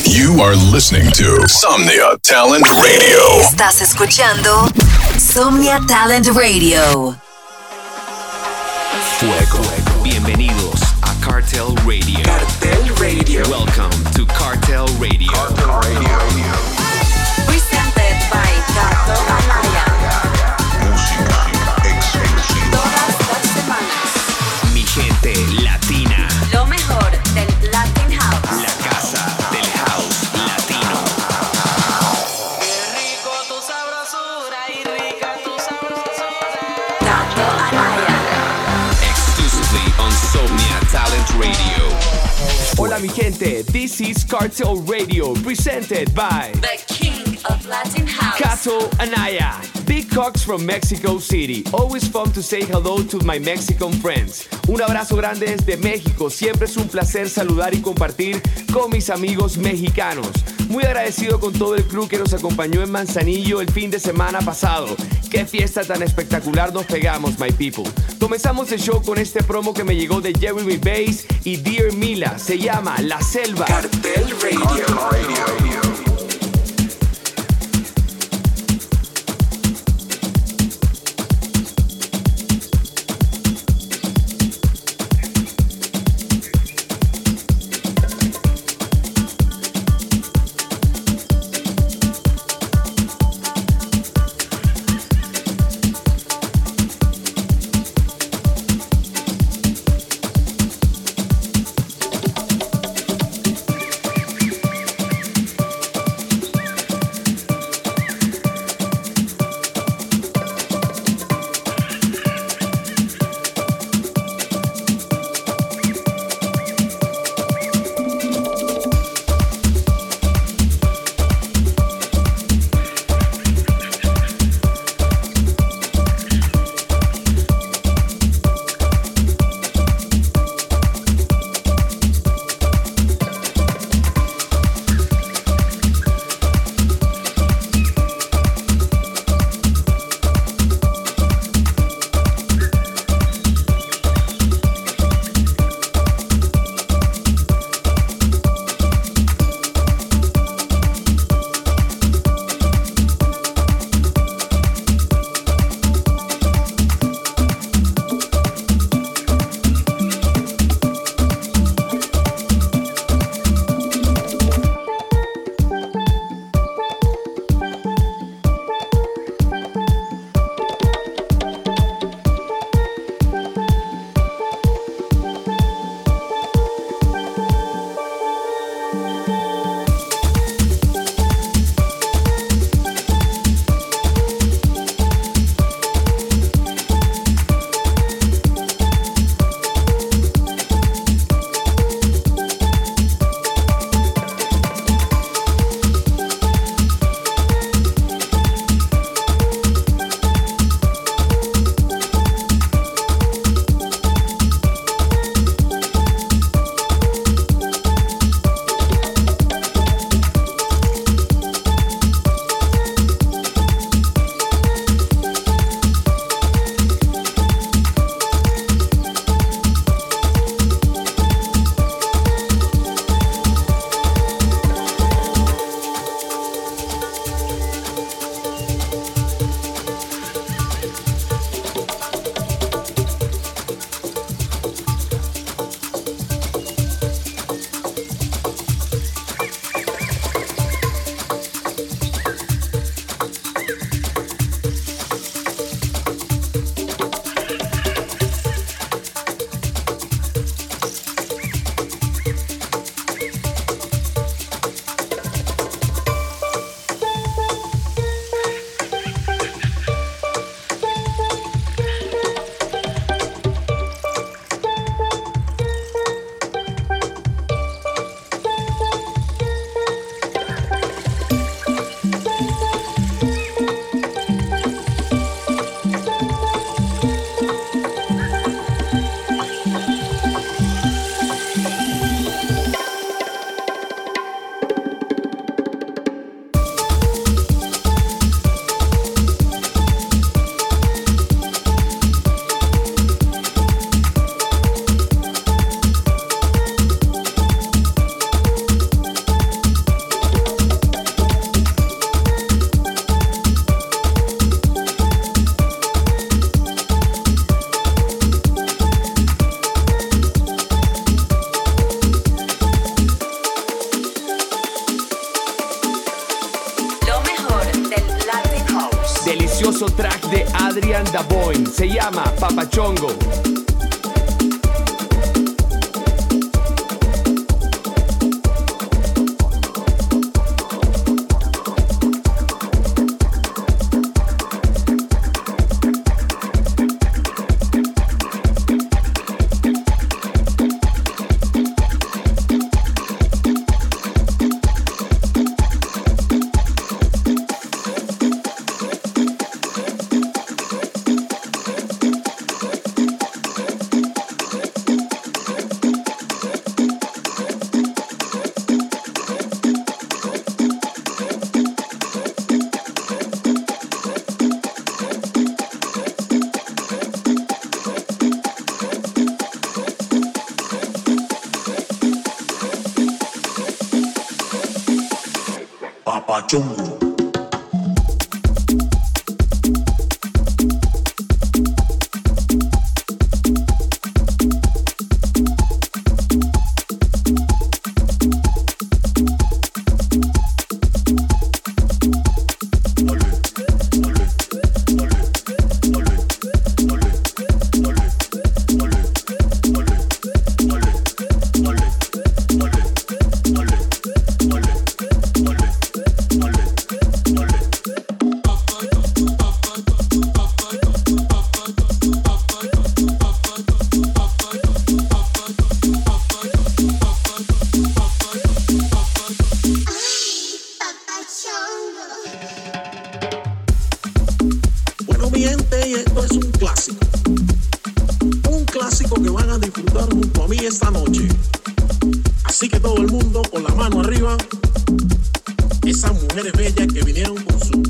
You are listening to Somnia Talent Radio. Estás escuchando Somnia Talent Radio. Fuego. Bienvenidos a Cartel Radio. Cartel Radio. Welcome to Cartel Radio. Cartel Radio. Presented by Gato Anaya. Música exclusiva. Todas las semanas. Mi gente latina. Lo mejor del Latin House. La casa del house latino. Qué rico tu sabrosura y rica tu sabrosura. Gato Anaya. Exclusively on Somnia Talent Radio. Hola mi gente, this is Cartel Radio, presented by The King of Latin House. Cato Anaya. Big Cox from Mexico City. Always fun to say hello to my Mexican friends. Un abrazo grande desde México. Siempre es un placer saludar y compartir con mis amigos mexicanos. Muy agradecido con todo el crew que nos acompañó en Manzanillo el fin de semana pasado. Qué fiesta tan espectacular nos pegamos, my people. Comenzamos el show con este promo que me llegó de Jeremy Bass y Dear Mila. Se llama La Selva. Cartel Radio. Cartel Radio. Delicioso track de Adrian Daboin. Se llama Papachongo. Papachongo. Bueno, mi gente, y esto es un clásico. Un clásico que van a disfrutar junto a mí esta noche. Así que todo el mundo con la mano arriba. Esas mujeres bellas que vinieron con su...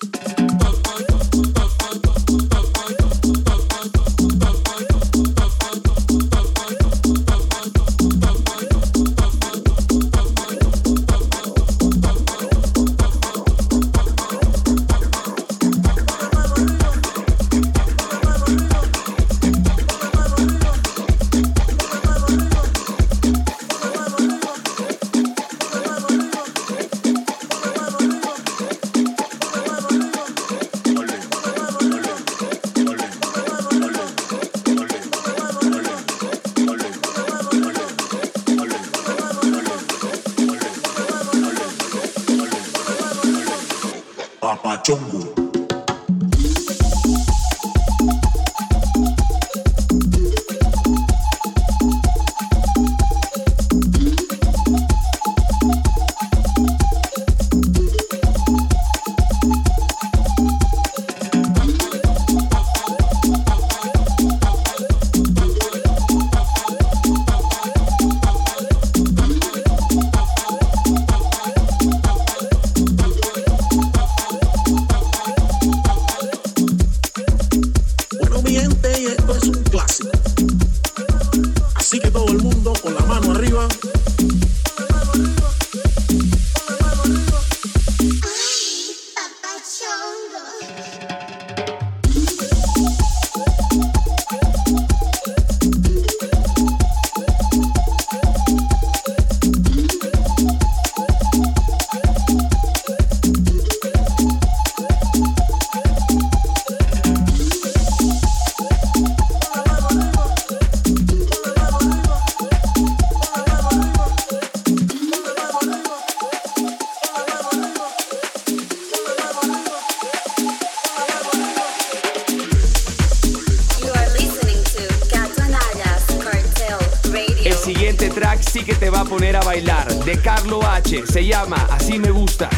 Papachongo. Y esto es un clásico. Así que todo el mundo con la mano arriba. El siguiente track sí que te va a poner a bailar, de Carlo H. Se llama Así me gustas.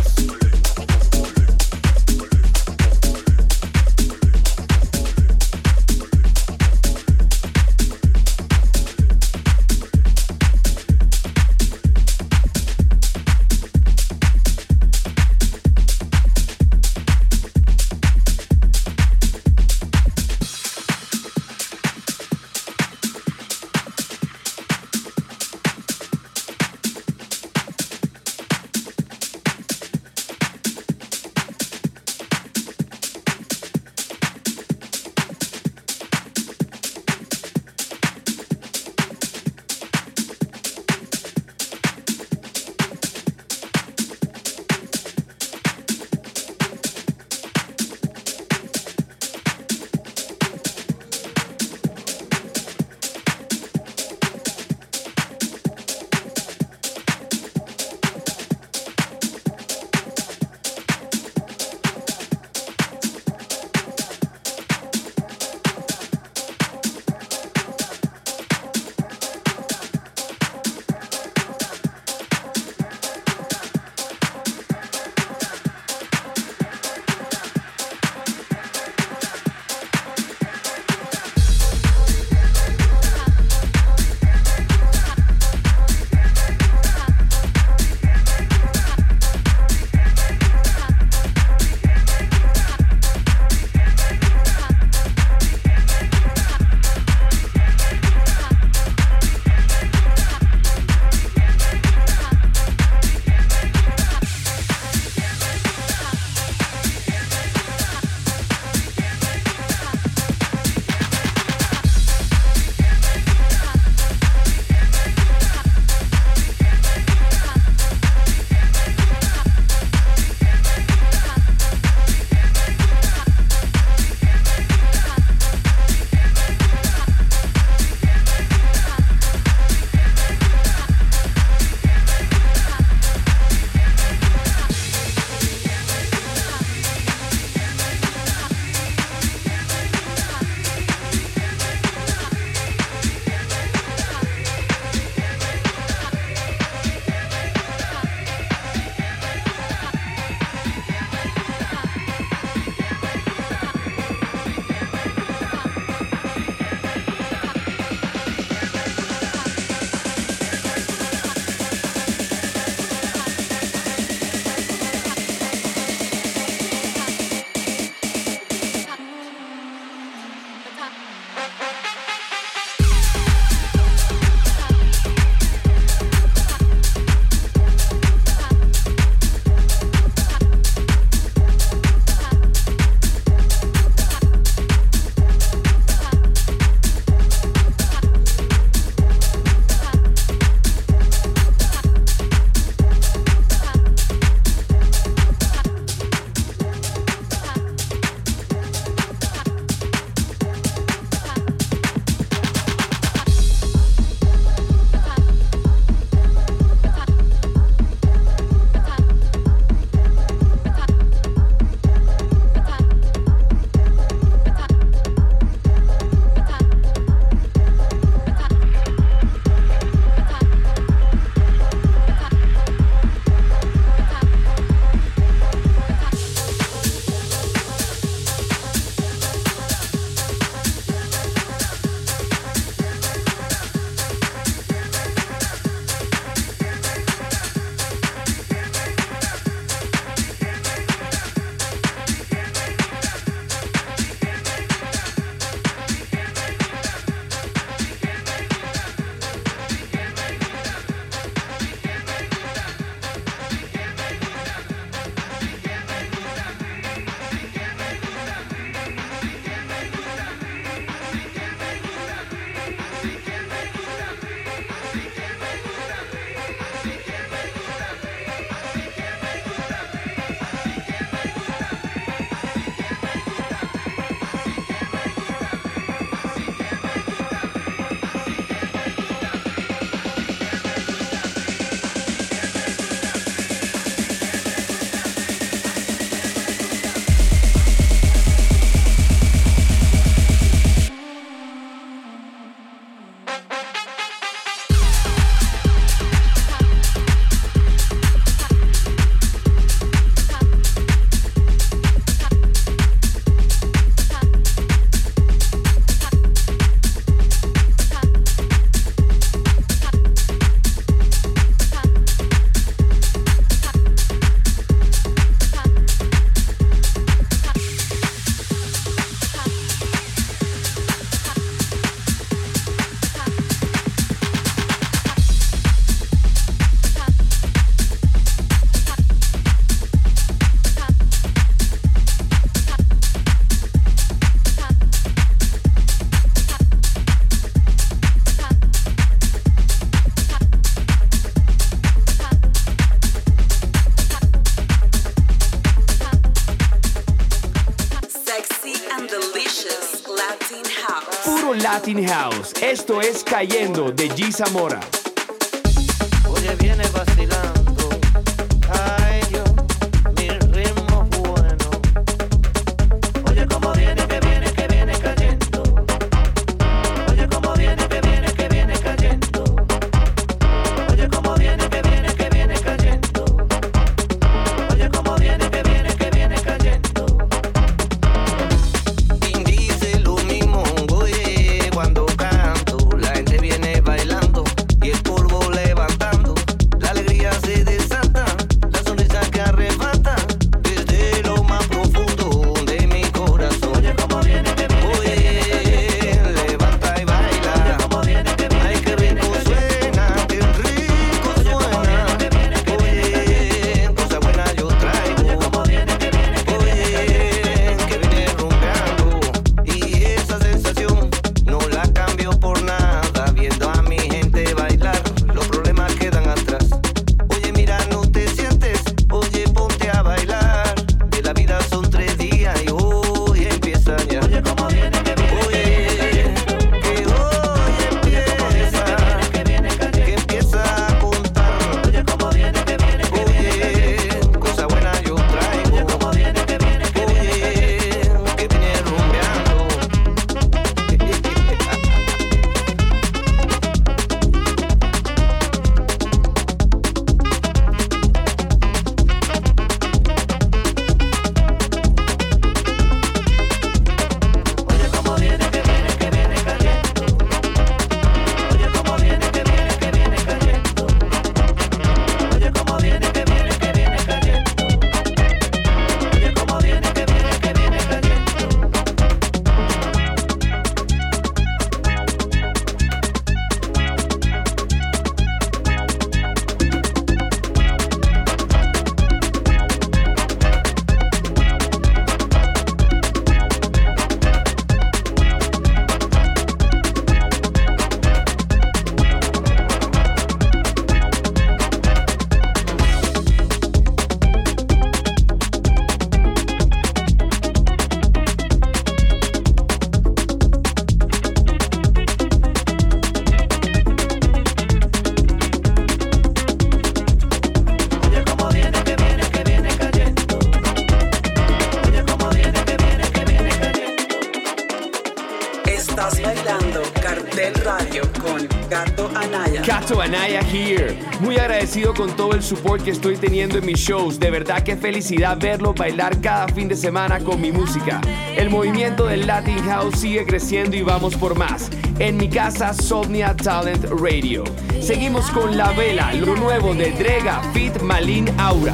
Latin House. Esto es Cayendo de G. Zamora. Oye, viene vacilando. Ay, Dios, mi ritmo bueno. Oye, cómo viene, que viene cayendo. Oye, cómo viene, que viene cayendo. Oye, cómo viene, que viene cayendo. Oye, cómo viene, que viene cayendo. Quien dice lo mismo, oye, cuando canto, la gente viene bailando y el polvo levantando. La alegría se desata, la sonrisa que arrebata desde lo más profundo de mi corazón. Oye, cómo viene, que viene, levanta y baila. Oye, cómo viene, que viene, ay, qué rico suena, qué rico suena. Oye, cosa buena yo traigo. Oye, cómo viene, que viene rumbeando. Y esa sensación no la cambio por nada, viendo a mi gente bailar. Los problemas quedan atrás. Oye, mira, no te sientes. Oye, ponte a bailar. Que la vida son 3 días y hoy empieza ya. Oye, cómo viene, que viene, que hoy empieza, que empieza a contar. Oye, cómo viene, que viene, oye, cosa buena yo traigo. Oye, cómo viene, que viene, oye, que viene rumbeando. Oye, cómo viene, que viene cayendo. Oye, cómo viene, que viene cayendo. Oye, cómo viene, que viene cayendo. Oye, cómo viene, que viene cayendo. Oye, cómo viene, que viene cayendo. Oye, cómo viene, que viene cayendo. Estás bailando Cartel Radio con Gato Anaya. Gato Anaya here. Muy agradecido con todo el support que estoy teniendo en mis shows. De verdad que felicidad verlo bailar cada fin de semana con mi música. El movimiento del Latin House sigue creciendo y vamos por más. En mi casa, Somnia Talent Radio. Seguimos con La Vela, lo nuevo de Drega, Fit Malin Aura.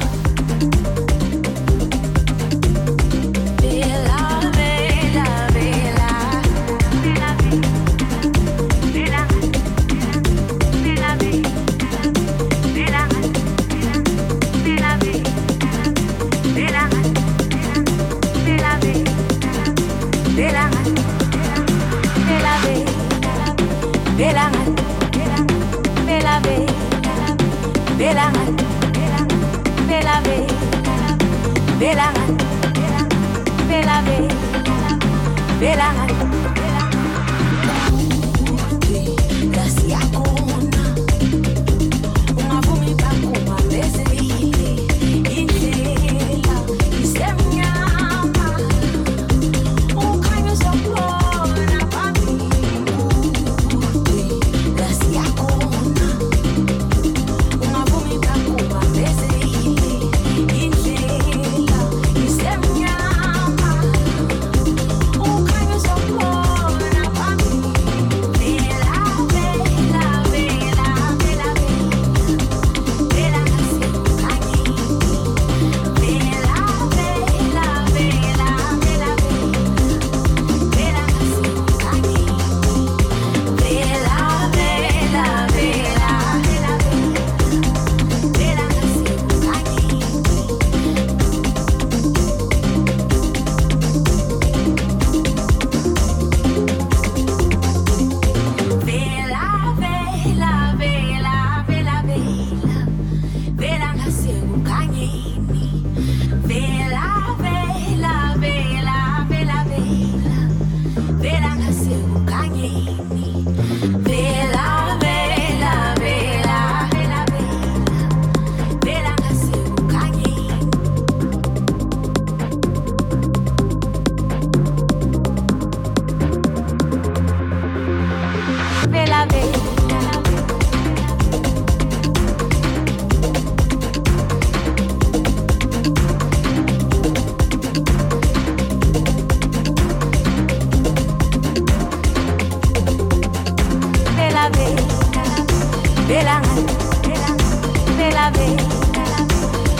Vela, vela, vela. Vela, vela. Vela, vela. Vela, vela. Vela, vela. Vela, vela. Vela, vela, vela, vela, vela, vela, gracias kona uma vomita kuma desile intela isemnyama ukhanya sokhona phambi gracias kona uma vomita kuma desile intela isemnyama ukhanya sokhona phambi Kanye.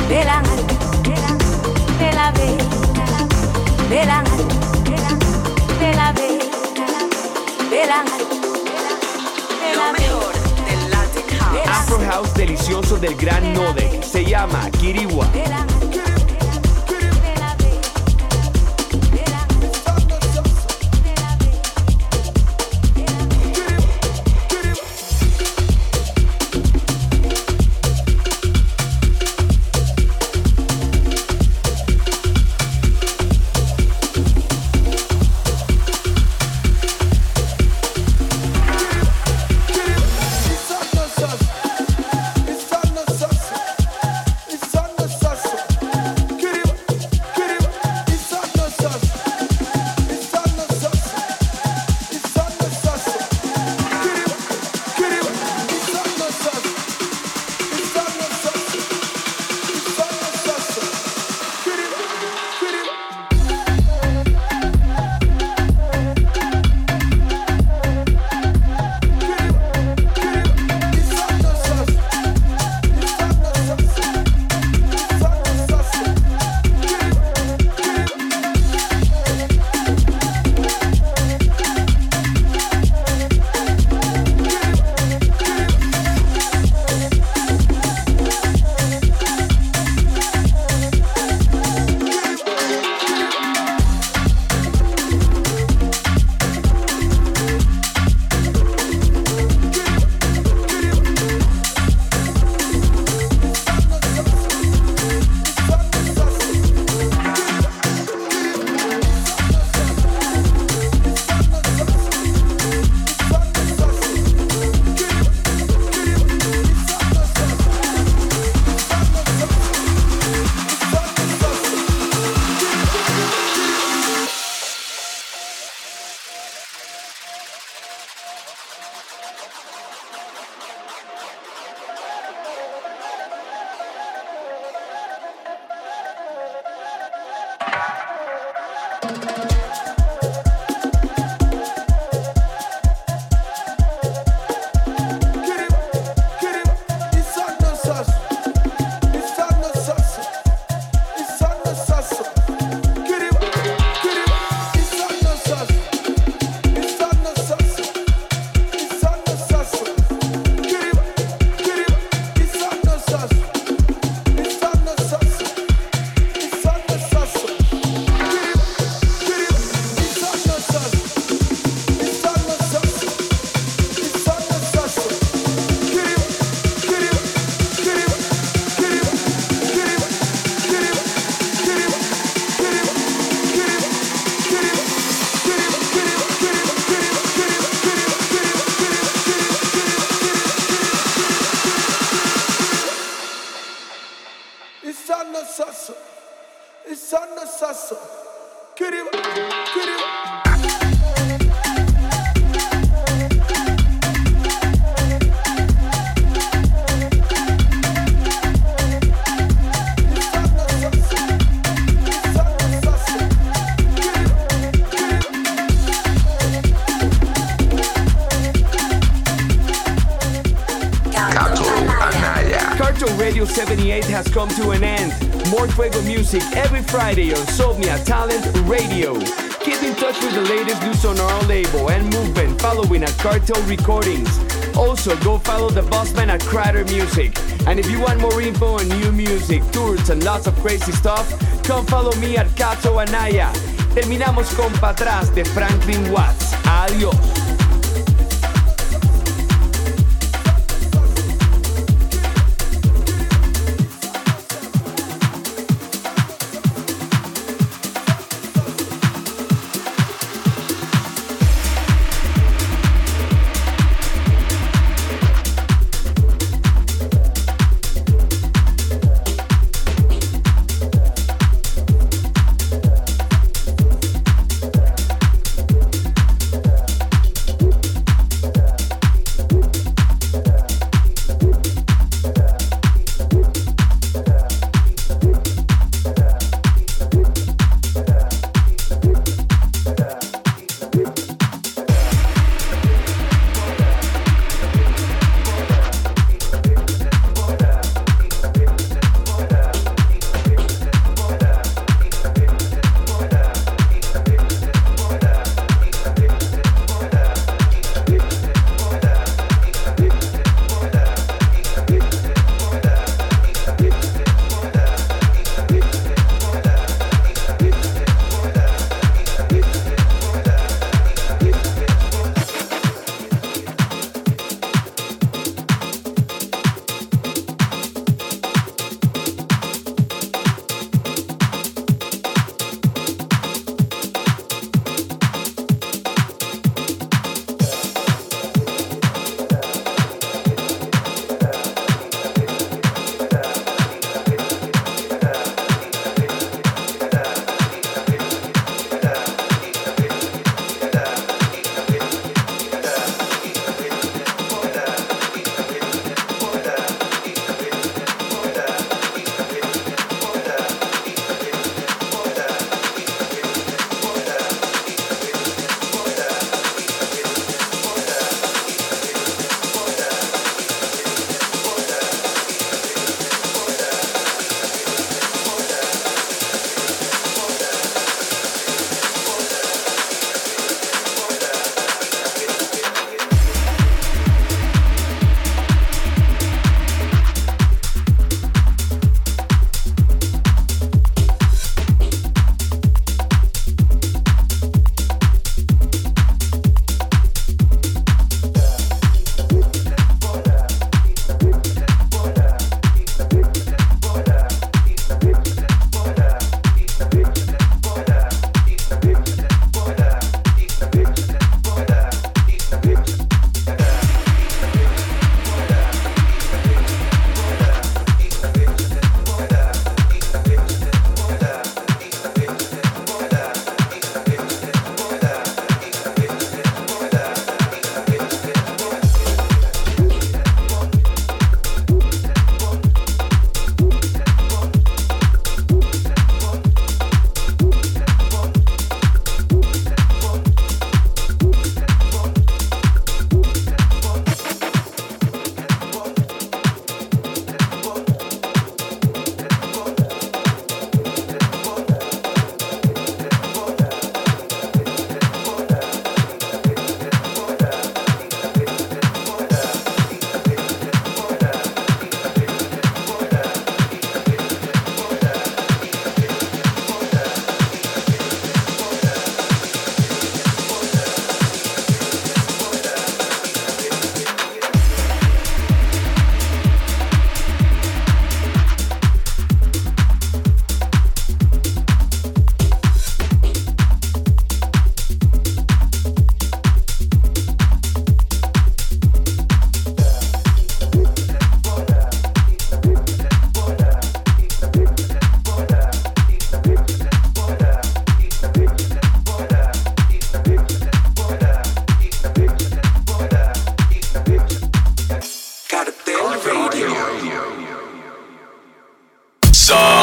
Lo mejor del Latin House. Afro House delicioso del gran Nodek. Se llama Kiriwa. Radio 78 has come to an end. More Fuego music every Friday on Somnia Talent Radio. Keep in touch with the latest news on our label and movement following at Cartel Recordings. Also, go follow the bossman at Crider Music. And if you want more info on new music, tours, and lots of crazy stuff, come follow me at Cato Anaya. Terminamos con Pa' Atrás de Franklin Watts. Adiós.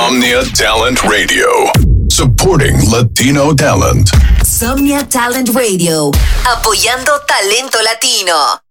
Somnia Talent Radio. Supporting Latino talent. Somnia Talent Radio, apoyando talento latino.